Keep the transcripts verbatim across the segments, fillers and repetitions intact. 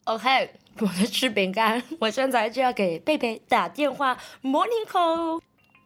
OK， 我在吃饼干，我现在就要给贝贝打电话 Morning call。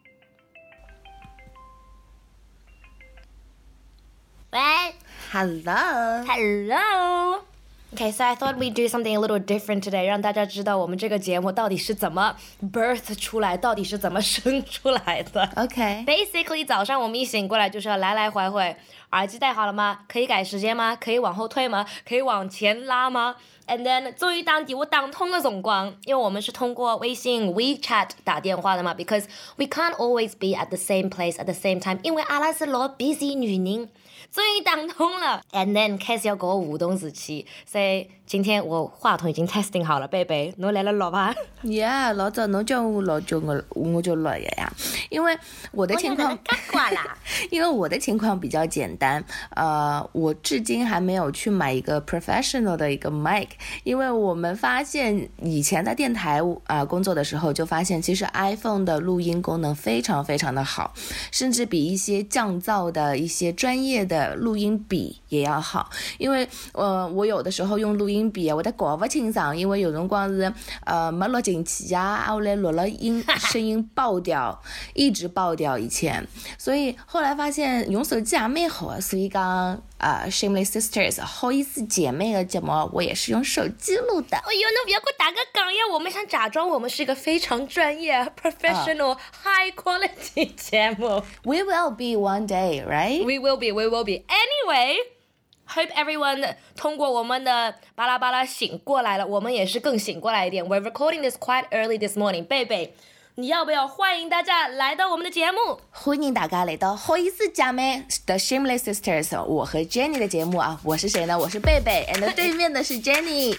喂 Hello Hello Okay, so I thought we'd do something a little different today, 让大家知道我们这个节目到底是怎么 birth 出来，到底是怎么生出来的。 OK Basically 早上我们一醒过来就是要来来回回，耳机戴好了吗？可以改时间吗？可以往后退吗？可以往前拉吗？ And then 终于當電話打通嘅辰光，因為我們是通過微信 WeChat 打電話的嘛 because we can't always be at the same place at the same time， 因為阿拉是老 busy 女人。終於打通了 and then 開始要跟我互動時期，所以今天我話筒已經 testing 好了，貝貝你嚟了攞吧。 Yeah， 老早你叫我老就我我就來了呀，因為我的情況因為我的情況比較簡單，呃，我至今還沒有去買一個 professional 的一個 mic， 因為我們發現以前在電台啊、呃、工作的時候就發現其實 iPhone 的錄音功能非常非常的好，甚至比一些降噪的一些專業的錄音筆也要好，因為呃我有的時候用錄音筆啊，我在搞不清爽，因為有辰光是呃沒錄進去啊，後來錄了音聲音爆掉一直爆掉以前，所以後來發現用手機也蠻好啊，所以講呃 Shameless Sisters 好意思姐妹的節目我也是用手機錄的。 哎呦，那不要給我打個梗呀，我們想假裝我們是一個非常專業 professional、uh, high quality 節目。 We will be one day, right? We will be, we will be. Anyway, hope everyone 通過我們的巴拉巴拉醒過來了，我們也是更醒過來一點。We're recording this quite early this morning. 貝貝，你要不要歡迎大家來到我們的節目？ 歡迎大家來到好意思姐妹的 Shameless Sisters， 我和 Jenny 的節目啊，我是誰呢？我是貝貝 and 對面的是 Jenny。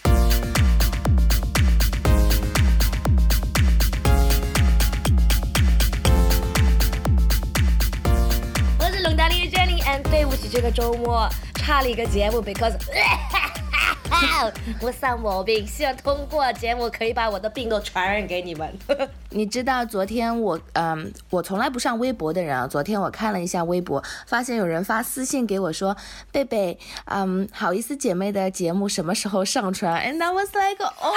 我是龍大利的 Jenny and 對不起這個周末差了一個節目 because 我上毛病，希望通過節目可以把我的病都傳染給你們。 你知道昨天我嗯，我從來不上微博的人啊，昨天我看了一下微博，發現有人發私信給我說，貝貝，嗯，好意思姐妹的節目什麼時候上傳 ？And I was like， 哦。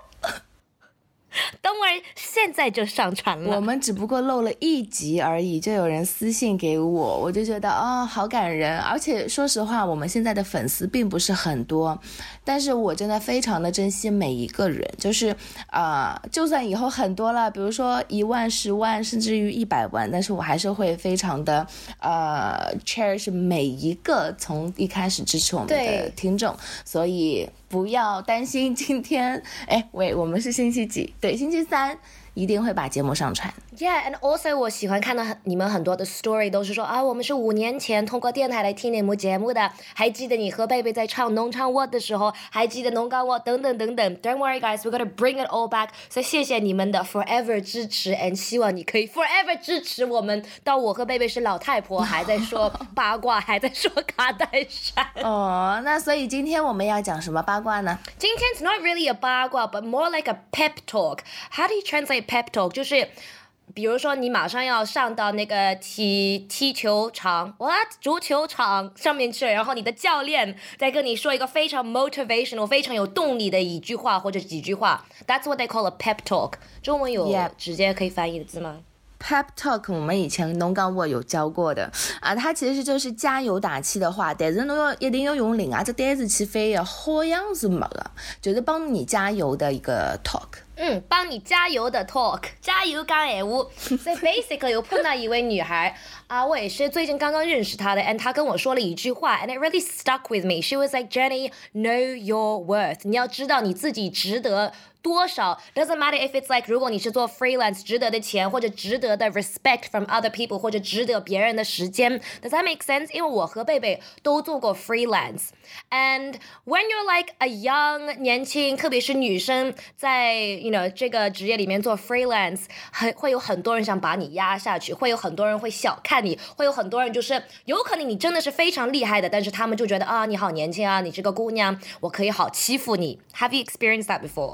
等會現在就上傳了， 我們只不過漏了一集而已，就有人私信給我，我就覺得哦，好感人。而且說實話，我們現在的粉絲並不是很多，但是我真的非常的珍惜每一個人，就是啊、呃，就算以後很多了，比如說一萬、十萬，甚至於一百萬，但是我還是會非常的呃 cherish 每一個從一開始支持我們的聽眾，所以不要擔心今天，哎，喂，我們是星期幾？對，星期三一定會把節目上傳。 Yeah, and also 我喜歡看到你們很多的 story 都是說啊，我們是五年前通過電台來聽你們節目的，還記得你和貝貝在唱農唱我的時候，還記得農歌我等等等等。Don't worry guys, we're gonna bring it all back. 所以謝謝你們的 forever 支持 and 希望你可以 forever 支持我們，到我和貝貝是老太婆還在說八卦，還在說卡戴珊。 哦，那所以今天我們要講什麼八卦呢？ 今天 it's not really a 八卦 but more like a pep talk. How do you translate pep talk? 就是比如說你馬上要上到那個踢踢球場 what 足球場上面去，然後你的教練在跟你說一個非常 motivational 非常有動力的一句話或者幾句話， that's what they call a pep talk。 中文有直接可以翻譯的字嗎？ Pep talk 我們以前農講我有教過的啊，它其實就是加油打氣的話，但是你要一定要用另外一隻單詞去翻譯，好像是沒了，就是幫你加油的一個 talk。 嗯，幫你加油的 talk， 加油講閒話。所以 basically 有碰到一位女孩啊，我也是最近剛剛認識她的 and 她跟我說了一句話 and it really stuck with me. She was like, Jenny, know your worth. 你要知道你自己值得多少 doesn't matter if it's like 如果你是做 freelance 值得的錢或者值得的 respect from other people 或者值得別人的時間 does that make sense？ 因為我和貝貝都做過 freelance and when you're like a young 年輕特別是女生在 you know 這個職業裡面做 freelance 很會有很多人想把你壓下去，會有很多人會小看你，會有很多人就是有可能你真的是非常厲害的，但是他們就覺得啊你好年輕啊，你這個姑娘我可以好欺負你。 Have you experienced that before？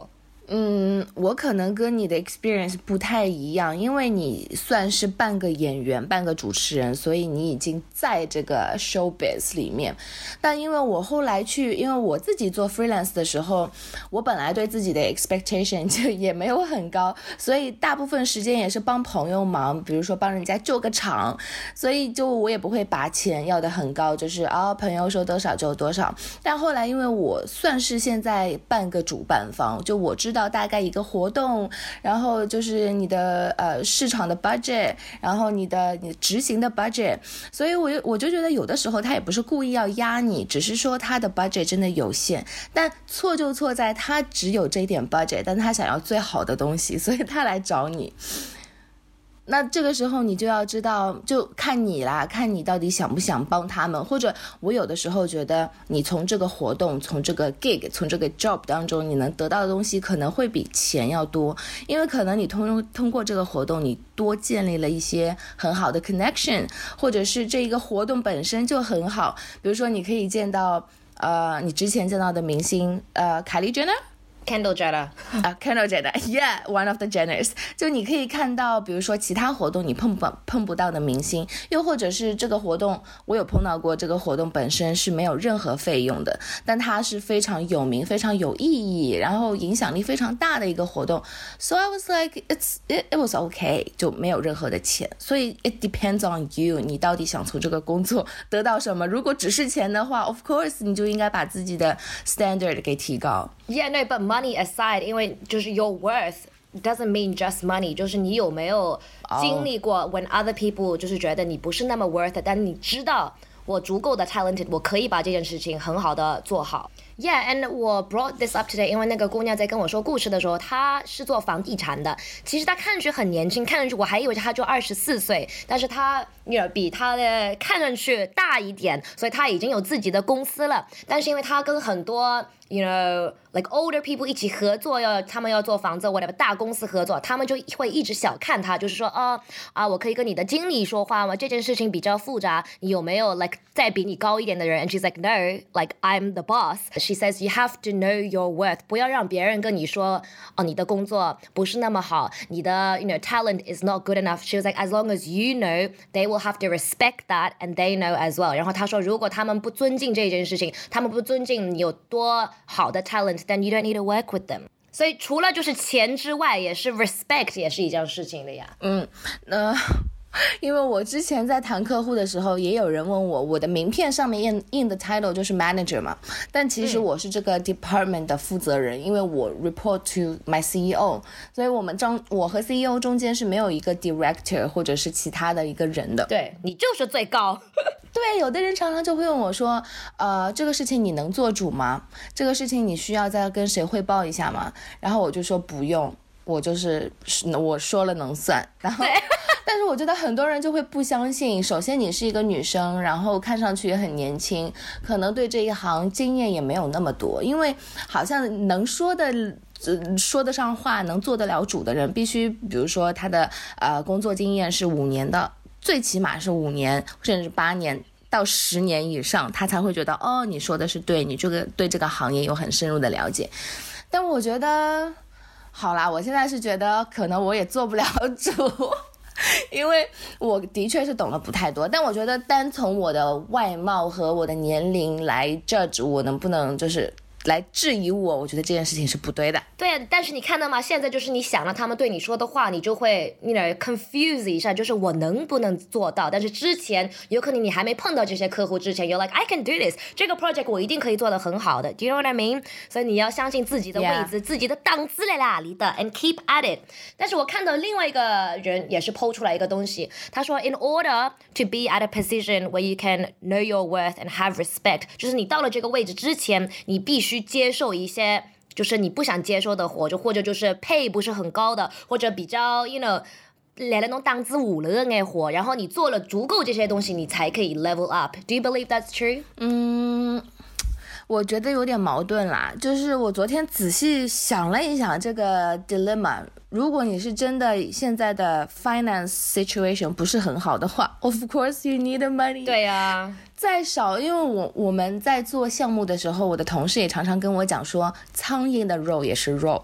嗯，我可能跟你的 experience 不太一样，因为你算是半个演员半个主持人，所以你已经在这个 showbiz 里面。但因为我后来去，因为我自己做 freelance 的时候，我本来对自己的 expectation 就也没有很高，所以大部分时间也是帮朋友忙，比如说帮人家救个场，所以就我也不会把钱要得很高，就是啊、哦、朋友说多少就多少。但后来因为我算是现在半个主办方，就我知道大概一个活动，然后就是你的呃市场的 budget， 然后你的你执行的 budget， 所以我我就觉得有的时候他也不是故意要压你，只是说他的 budget 真的有限，但错就错在他只有这一点 budget， 但他想要最好的东西，所以他来找你。那这个时候你就要知道，就看你啦，看你到底想不想帮他们。或者我有的时候觉得你从这个活动，从这个 gig， 从这个 job 当中你能得到的东西可能会比钱要多，因为可能你通通过这个活动你多建立了一些很好的 connection， 或者是这一个活动本身就很好，比如说你可以见到呃你之前见到的明星呃凯莉 Jenner Kendall Jenner 啊、uh, Kendall Jenner yeah one of the Jenners， 就你可以看到比如说其他活动你碰不碰不到的明星，又或者是这个活动我有碰到过，这个活动本身是没有任何费用的，但它是非常有名非常有意义，然后影响力非常大的一个活动， so I was like it's it, it was okay， 就没有任何的钱，所以 it depends on you， 你到底想从这个工作得到什么。如果只是钱的话 of course 你就应该把自己的 standard 给提高。 Yeah no but money aside， 因为就是 your worth doesn't mean just money， 就是你有没有经历过 when other people 就是觉得你不是那么 worth it， 但你知道我足够的 talented， 我可以把这件事情很好的做好。Yeah, and 我 brought this up today， 因为那个姑娘在跟我说故事的时候，她是做房地产的。其实她看上去很年轻，看上去我还以为她就二十四岁，但是她 you know, 比她的看上去大一点，所以她已经有自己的公司了。但是因为她跟很多 you know like older people 一起合作，要他们要做房子 whatever 大公司合作，他们就会一直小看她，就是说啊啊，我可以跟你的经理说话吗？这件事情比较复杂，你有没有 like 再比你高一点的人 ？And she's like no, like I'm the boss.She says you have to know your worth， 不要让别人跟你说哦你的工作不是那么好，你的 you know talent is not good enough。 She was like as long as you know they will have to respect that and they know as well。 然后她说如果他们不尊敬这件事情，他们不尊敬你有多好的 talent then you don't need to work with them。 所以除了就是钱之外也是 respect 也是一件事情的呀。 嗯呃因为我之前在谈客户的时候，也有人问我，我的名片上面印印的 title 就是 manager 嘛，但其实我是这个 department 的负责人，嗯、因为我 report to my C E O， 所以我们中我和 C E O 中间是没有一个 director 或者是其他的一个人的。 对，你就是最高。 对，有的人常常就会问我说，呃，这个事情你能做主吗？这个事情你需要再跟谁汇报一下吗？然后我就说不用，我就是我说了能算，然后。但是我觉得很多人就会不相信，首先你是一个女生，然后看上去也很年轻，可能对这一行经验也没有那么多，因为好像能说的呃、说得上话能做得了主的人必须比如说他的呃工作经验是五年的，最起码是五年甚至八年到十年以上，他才会觉得哦你说的是对，你这个对这个行业有很深入的了解。但我觉得好啦，我现在是觉得可能我也做不了主因为我的确是懂得不太多，但我觉得单从我的外貌和我的年龄来 judge 我能不能就是来质疑我，我觉得这件事情是不对的。 对，但是你看到吗？现在就是你想了他们对你说的话，你就会 you know confuse 一下，就是我能不能做到？但是之前有可能你还没碰到这些客户之前 ，you're like I can do this， 这个 project 我一定可以做得很好的。Do you know what I mean？ 所以你要相信自己的位置、yeah. 自己的档次在哪里的 ，and keep at it。但是我看到另外一个人也是 po 出来一个东西，他说 in order to be at a position where you can know your worth and have respect， 就是你到了这个位置之前，你必须去接受一些就是你不想接受的活，就或者就是pay不是很高的，或者比较 you know 来了那种档次五了的活，然后你做了足够这些东西，你才可以 level up。 Do you believe that's true？ 嗯，我觉得有点矛盾啦，就是我昨天仔细想了一想这个 dilemma， 如果你是真的现在的 finance situation 不是很好的话 of course you need money。 对啊， 再少，因为我我们在做项目的时候，我的同事也常常跟我讲说，苍蝇的肉也是肉，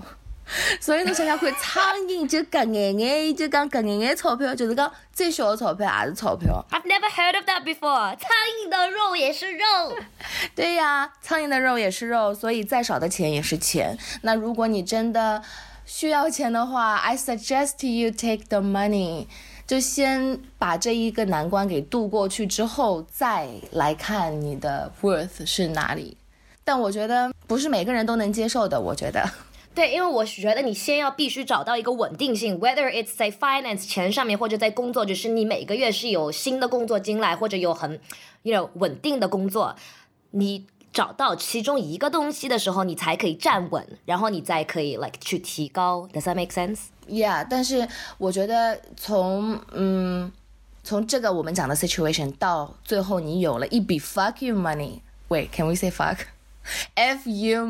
所以侬想想看，苍蝇就搿眼眼，就讲搿眼眼钞票，就是讲再小的钞票也是钞票。 I've never heard of that before. 苍蝇的肉也是肉。 对呀，苍蝇的肉也是肉，所以再少的钱也是钱。那如果你真的需要钱的话， I suggest you take the money， 就先把这一个难关给度过去之后，再来看你的 worth 是哪里。但我觉得不是每个人都能接受的，我觉得。 对，因为我觉得你先要必须找到一个稳定性 ，whether it's 在 finance 钱上面，或者在工作，就是你每个月是有新的工作进来，或者有很 you know 稳定的工作，你找到其中一个东西的时候，你才可以站稳，然后你再可以 like 去提高。 Does that make sense? Yeah， 但是我觉得从嗯从这个我们讲的 situation 到最后你有了一笔 fuck you money， wait can we say fuck F you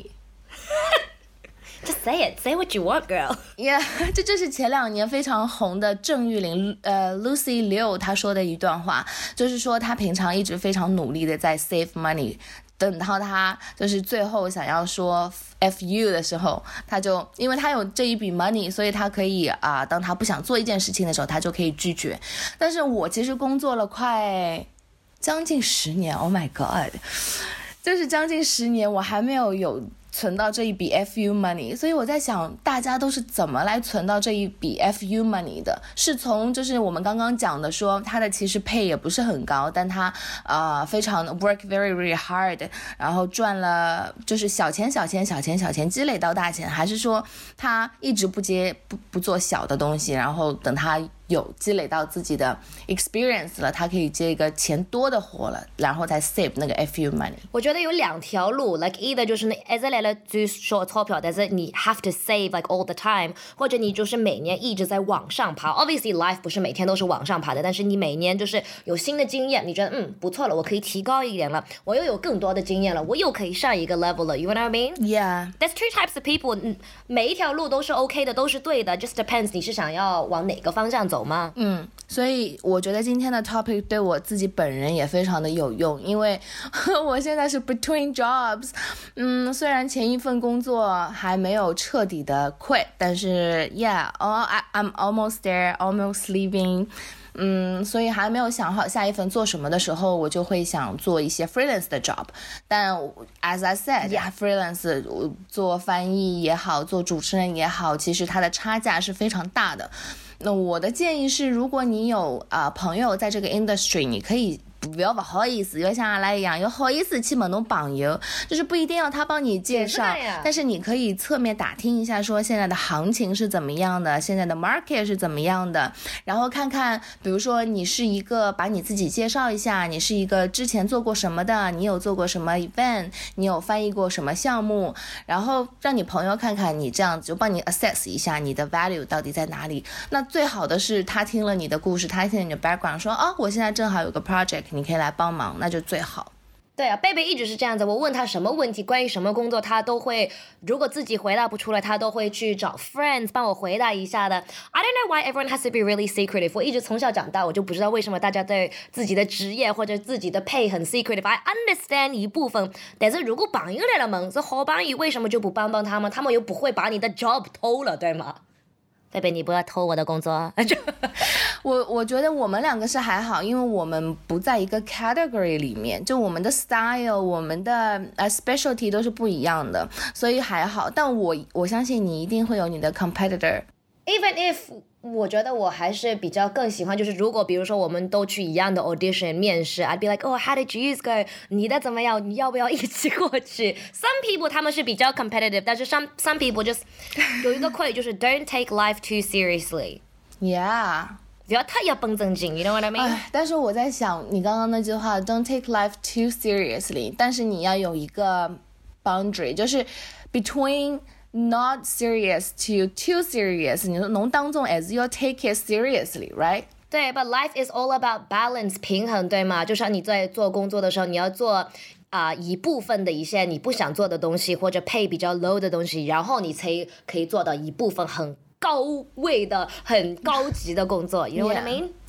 money。Just say it, say what you want, girl. Yeah， 这就是前两年非常红的郑裕玲呃 Lucy Liu 她说的一段话，就是说她平常一直非常努力的在 save money， 等到她就是最后想要说 F you 的时候，她就因为她有这一笔 money， 所以她可以啊、呃，当她不想做一件事情的时候，她就可以拒绝。但是我其实工作了快将近十年 ，Oh my God， 就是将近十年，我还没有有存到这一笔 F U money， 所以我在想大家都是怎么来存到这一笔 F U money 的，是从就是我们刚刚讲的说他的其实 pay 也不是很高，但他呃非常 work very very hard， 然后赚了就是小钱小钱小钱小钱积累到大钱，还是说他一直不接不不做小的东西，然后等他有积累到自己的 experience 了，他可以接一个钱多的活了，然后再 save 那个 F U money。 我觉得有两条路 like either 就是你一直来了就说钞票，但是你 have to save like all the time， 或者你就是每年一直在往上爬。 Obviously life 不是每天都是往上爬的，但是你每年就是有新的经验，你觉得嗯不错了，我可以提高一点了，我又有更多的经验了，我又可以上一个 level 了， you know what I mean? Yeah, there's two types of people， 每一条路都是 OK 的，都是对的， just depends 你是想要往哪个方向走吗？ 嗯，所以我觉得今天的 topic 对我自己本人也非常的有用，因为我现在是 between jobs， 嗯，虽然前一份工作还没有彻底的 quit， 但是 yeah, oh, I, I'm almost there, almost leaving， 嗯，所以还没有想好下一份做什么的时候，我就会想做一些 freelance 的 job， 但 as I said, yeah, freelance 做翻译也好，做主持人也好，其实它的差价是非常大的。那我的建议是，如果你有啊、呃、朋友在这个 industry， 你可以不要不好意思，要像阿拉一样，有好意思去问侬朋友，就是不一定要他帮你介绍，但是你可以侧面打听一下，说现在的行情是怎么样的，现在的 market 是怎么样的，然后看看，比如说你是一个，把你自己介绍一下，你是一个之前做过什么的，你有做过什么 event， 你有翻译过什么项目，然后让你朋友看看你，这样就帮你 assess 一下你的 value 到底在哪里。那最好的是他听了你的故事，他听了你的 background， 说哦，我现在正好有个 project，你可以来帮忙，那就最好。 对啊，贝贝一直是这样子，我问他什么问题，关于什么工作，他都会，如果自己回答不出来，他都会去找 friends 帮我回答一下的。I don't know why everyone has to be really secretive。我一直从小长大，我就不知道为什么大家对自己的职业或者自己的 pay 很 secretive。I understand 一部分，但是如果朋友来了问，是好朋友，为什么就不帮帮他们？他们又不会把你的 job 偷了，对吗？贝贝，你不要偷我的工作。 我我觉得我们两个是还好，因为我们不在一个 category 里面，就我们的 style， 我们的呃 specialty 都是不一样的，所以还好。但我我相信你一定会有你的 competitor。Even if 我觉得我还是比较更喜欢，就是如果比如说我们都去一样的 audition 面试 ，I'd be like, oh, how did yours go? 你的怎么样？你要不要一起过去 ？Some people 他们是比较 competitive， 但是 some some people just 有一个quote就是 don't take life too seriously。Yeah， 不要太要绷正经 ，you know what I mean？ 但是我在想，你刚刚那句话 don't take life too seriously， 但是你要有一个 boundary， 就是 between。Not serious to too serious， 你侬当中还是要 take it seriously, right？ 对 ，but life is all about balance， 平衡，对吗？就像你在做工作的时候，你要做啊、呃、一部分的一些你不想做的东西，或者 pay 比较 low 的东西，然后你才可以做到一部分很高位的、很高级的工作。You know what I mean？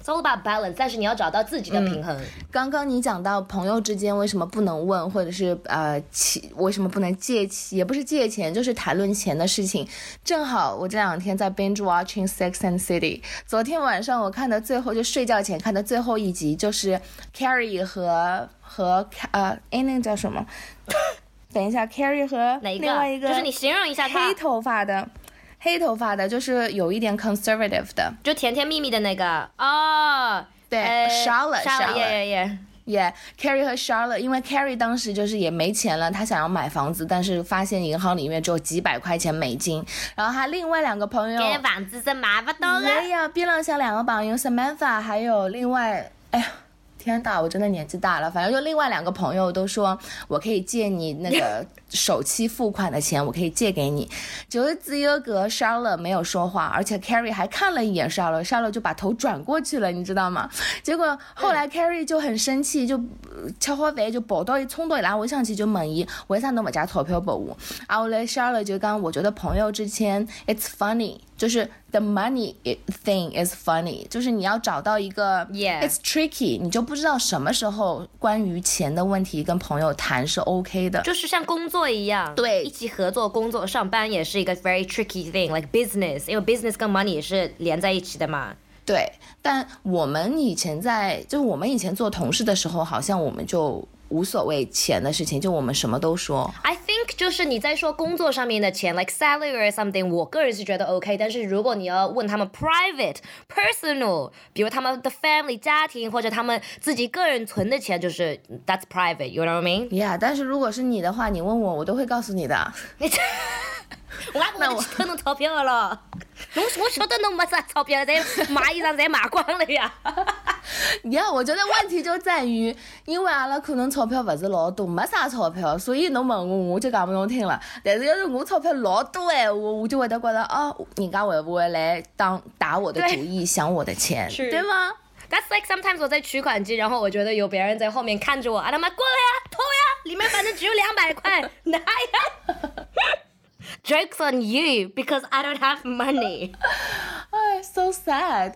all about balance， 但是你要找到自己的平衡。嗯、 刚刚你讲到朋友之间为什么不能问，或者是呃为什么不能借钱，也不是借钱，就是谈论钱的事情。正好我这两天在 binge watching Sex and City， 昨天晚上我看的最后就睡觉前看的最后一集，就是 Carrie 和和呃哎那个叫什么？等一下 ，Carrie 和另外一个就是你形容一下他黑头发的。黑头发的，就是有一点 conservative 的， 就甜甜蜜蜜的那个哦， 对、 呃、 ，Charlotte Charlotte yeah yeah yeah，Carrie 和 Charlotte， 因为 Carrie 当时就是也没钱了，她想要买房子，但是发现银行里面只有几百块钱美金，然后她另外两个朋友， 买房子是买不到的。 对呀，边上像两个朋友 Samantha 还有另外，哎呀。天大，我真的年纪大了。反正就另外两个朋友都说，我可以借你那个首期付款的钱，我可以借给你。就是只有个 Charlotte 没有说话，而且 Carrie 还看了一眼 Charlotte，Charlotte 就把头转过去了，你知道吗？结果后来 Carrie 就很生气，就吃好饭就跑到一冲到伊拉屋上去就问伊，为啥侬不借钞票给我？啊，后来 Charlotte 就讲，我觉得朋友之间 it's funny， 就是 the money thing is funny， 就是你要找到一个 yeah. it's tricky， 你就不知道什么时候关于钱的问题跟朋友谈是 OK 的， 就是像工作一样， 对， 一起合作工作上班也是一个 very tricky thing like business， 因为 business 跟 money 也是连在一起的嘛。 对，但我们以前在就是我们以前做同事的时候，好像我们就无所谓钱的事情，就我们什么都说。 I think 就是你在说工作上面的钱 like salary or something， 我个人是觉得 OK， 但是如果你要问他们 private personal， 比如他们的 family 家庭或者他们自己个人存的钱，就是 that's private you know what I mean yeah， 但是如果是你的话，你问我我都会告诉你的。 我我我偷侬钞票了，侬我晓得侬没啥钞票，侪买衣裳侪买光了呀。 呀，我觉得问题就在于，因为阿拉可能钞票不是老多，没啥钞票，所以侬问我我就讲不用听了。但是要是我钞票老多哎，我我就会得觉得哦，人家会不会来当打我的主意，想我的钱，对吗 ？That's like sometimes 我在取款机，然后我觉得有别人在后面看着我，啊他妈过来呀，偷呀，里面反正只有两百块，拿呀。Joke's on you because I don't have money. 哎 so sad.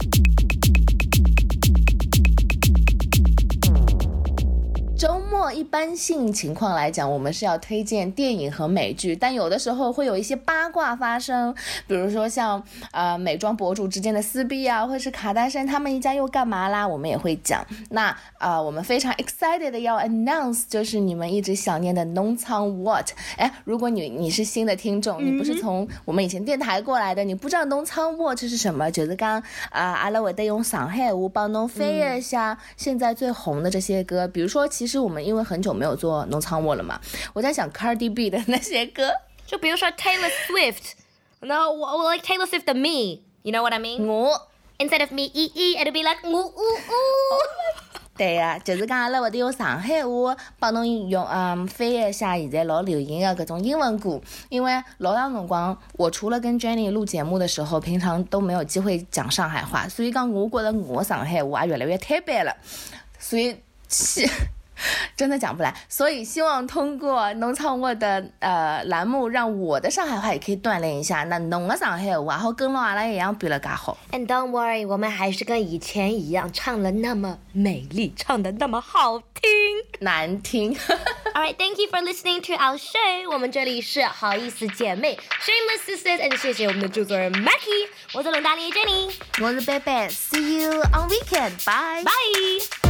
周末一般性情况来讲，我们是要推荐电影和美剧，但有的时候会有一些八卦发生，比如说像呃美妆博主之间的撕逼啊，或者是卡戴珊他们一家又干嘛啦，我们也会讲。那呃我们非常 excited 的要 announce 就是你们一直想念的农场 what。 哎，如果你你是新的听众，你不是从我们以前电台过来的，你不知道农场 what 是什么，就是刚啊阿拉会得用上海话帮侬翻译一下现在最红的这些歌，比如说其实其实我们因为很久没有做农场我了嘛，我在想 Cardi B 的那些歌， 就比如说 Taylor Swift， 然后我我 like Taylor Swift 的 Me， you know what I mean？ 我 instead of me 咦咦 it'll be like 我呜呜。 对呀、啊，就是讲阿拉会得用上海话帮侬用嗯翻译一下现在老流行的各种英文歌，因为老长辰光我除了跟 Jenny 录节目的时候，平常都没有机会讲上海话，所以讲我觉得我上海话越来越太白了，所以真的讲不来，所以希望通过农场我的呃栏目，让我的上海话也可以锻炼一下，那侬的上海话好跟阿拉一样变得更好。 And don't worry， 我们还是跟以前一样，唱了那么美丽，唱的那么好听， 难听。 Alright, thank you for listening to our show。 我们这里是好意思姐妹 Shameless Sisters， and 谢谢我们的制作人 Mackie， 我是冷大力 Jenny， 我是贝贝 See you on weekend， bye bye。